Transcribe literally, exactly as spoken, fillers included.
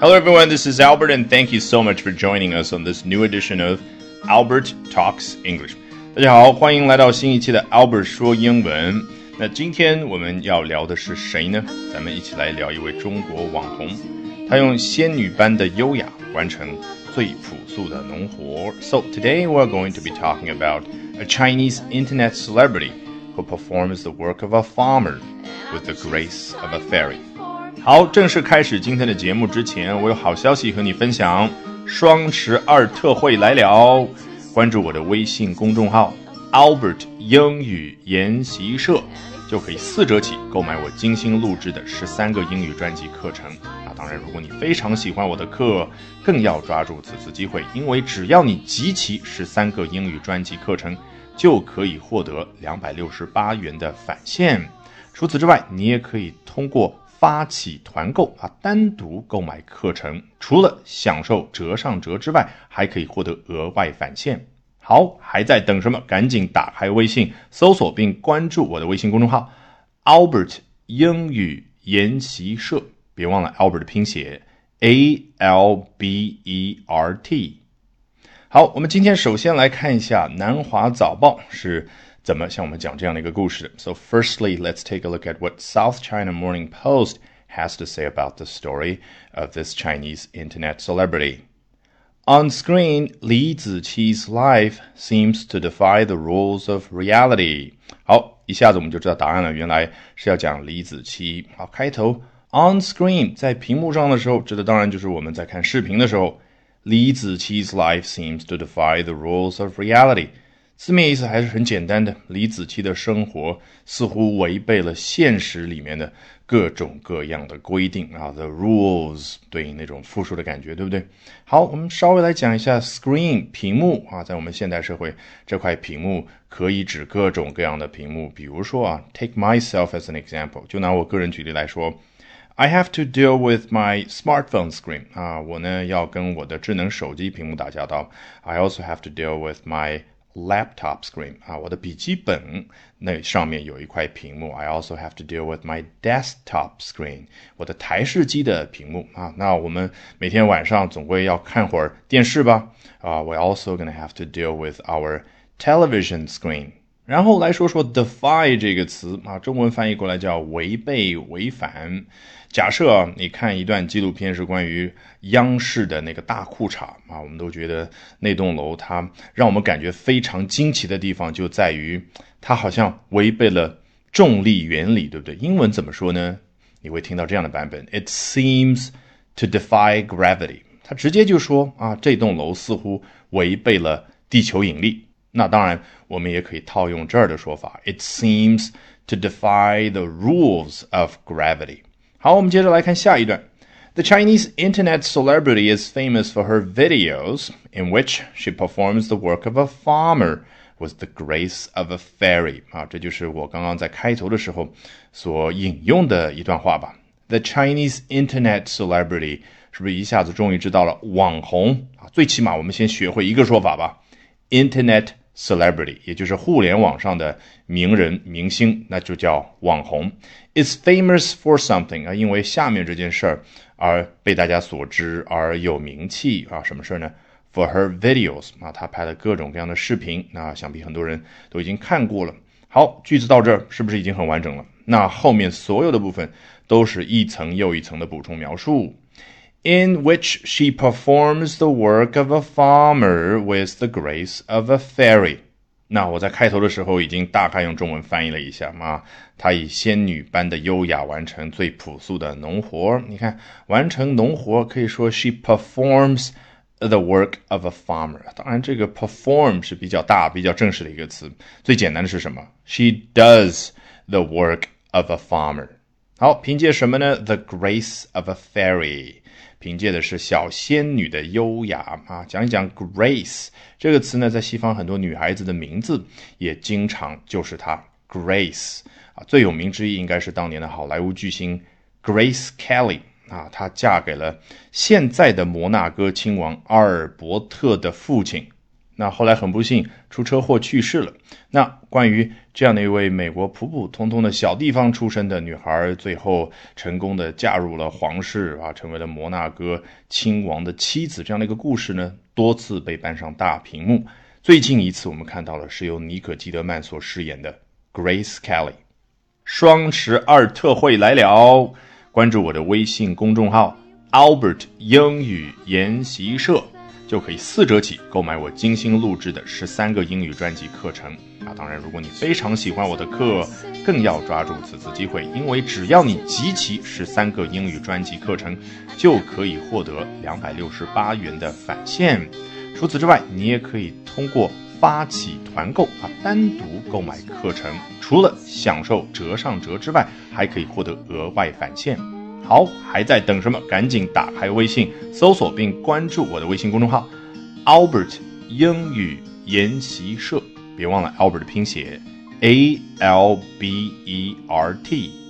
Hello everyone, this is Albert and thank you so much for joining us on this new edition of Albert Talks English. 大家好，欢迎来到新一期的 Albert 说英文。那今天我们要聊的是谁呢？咱们一起来聊一位中国网红，他用仙女般的优雅完成最朴素的农活。So today we're going to be talking about a Chinese internet celebrity who performs the work of a farmer with the grace of a fairy.好，正式开始今天的节目之前，我有好消息和你分享，双十二特惠来了，关注我的微信公众号 Albert 英语研习社，就可以四折起购买我精心录制的十三个英语专辑课程。那当然，如果你非常喜欢我的课，更要抓住此次机会，因为只要你集齐十三个英语专辑课程，就可以获得两百六十八元的返现。除此之外，你也可以通过发起团购啊，单独购买课程，除了享受折上折之外，还可以获得额外返现。好，还在等什么？赶紧打开微信，搜索并关注我的微信公众号 Albert 英语研习社，别忘了 Albert 的拼写 A L B E R T。 好，我们今天首先来看一下南华早报是怎么向我们讲这样的一个故事。 So firstly, let's take a look at what South China Morning Post has to say about the story of this Chinese internet celebrity. On screen, Li Ziqi's life seems to defy the rules of reality. 好，一下子我们就知道答案了，原来是要讲李子柒。好，开头 On screen 在屏幕上的时候，指的当然就是我们在看视频的时候。Li Ziqi's life seems to defy the rules of reality.字面意思还是很简单的，李子柒的生活似乎违背了现实里面的各种各样的规定啊 ，the rules 对应那种复数的感觉，对不对？好，我们稍微来讲一下 screen 屏幕啊，在我们现代社会，这块屏幕可以指各种各样的屏幕，比如说啊 ，take myself as an example， 就拿我个人举例来说。I have to deal with my smartphone screen 啊，我呢要跟我的智能手机屏幕打交道。I also have to deal with my laptop screen 啊，我的笔记本那上面有一块屏幕。I also have to deal with my desktop screen 我的台式机的屏幕啊。那我们每天晚上总归要看会儿电视吧啊。We're also gonna have to deal with our television screen。然后来说说 defy 这个词啊，中文翻译过来叫违背、违反。假设啊，你看一段纪录片是关于央视的那个大裤衩啊，我们都觉得那栋楼它让我们感觉非常惊奇的地方就在于它好像违背了重力原理，对不对？英文怎么说呢？你会听到这样的版本 It seems to defy gravity。 它直接就说啊，这栋楼似乎违背了地球引力。那当然我们也可以套用这儿的说法 It seems to defy the rules of gravity。 好，我们接着来看下一段。 The Chinese internet celebrity is famous for her videos in which she performs the work of a farmer with the grace of a fairy。 啊，这就是我刚刚在开头的时候所引用的一段话吧。 The Chinese internet celebrity 是不是一下子终于知道了网红啊？最起码我们先学会一个说法吧， Internet celebrity 也就是互联网上的名人明星，那就叫网红。 Is famous for something 啊，因为下面这件事儿而被大家所知，而有名气啊。什么事呢？ For her videos 啊，她拍了各种各样的视频，那想必很多人都已经看过了。好，句子到这儿是不是已经很完整了？那后面所有的部分都是一层又一层的补充描述。In which she performs the work of a farmer with the grace of a fairy。 那我在开头的时候已经大概用中文翻译了一下嘛，她以仙女般的优雅完成最朴素的农活。你看，完成农活可以说 she performs the work of a farmer。 当然这个 perform 是比较大比较正式的一个词，最简单的是什么？ She does the work of a farmer。 好，凭借什么呢？ The grace of a fairy，凭借的是小仙女的优雅啊。讲一讲 Grace 这个词呢，在西方很多女孩子的名字也经常就是她 Grace 啊。最有名之一应该是当年的好莱坞巨星 Grace Kelly 啊，她嫁给了现在的摩纳哥亲王阿尔伯特的父亲那后来很不幸出车祸去世了。那关于这样的一位美国普普通通的小地方出身的女孩，最后成功的嫁入了皇室啊，成为了摩纳哥亲王的妻子，这样的一个故事呢，多次被搬上大屏幕。最近一次我们看到的是由妮可基德曼所饰演的 Grace Kelly。 双十二特惠来了，关注我的微信公众号 Albert 英语研习社，就可以四折起购买我精心录制的十三个英语专辑课程啊！当然，如果你非常喜欢我的课，更要抓住此次机会，因为只要你集齐十三个英语专辑课程，就可以获得两百六十八元的返现。除此之外，你也可以通过发起团购啊，单独购买课程，除了享受折上折之外，还可以获得额外返现。好，还在等什么？赶紧打开微信，搜索并关注我的微信公众号 Albert 英语研习社，别忘了 Albert 的拼写 A L B E R T。